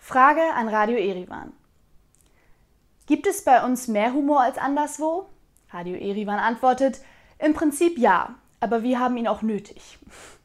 Frage an Radio Erivan. Gibt es bei uns mehr Humor als anderswo? Radio Erivan antwortet, im Prinzip ja, aber wir haben ihn auch nötig.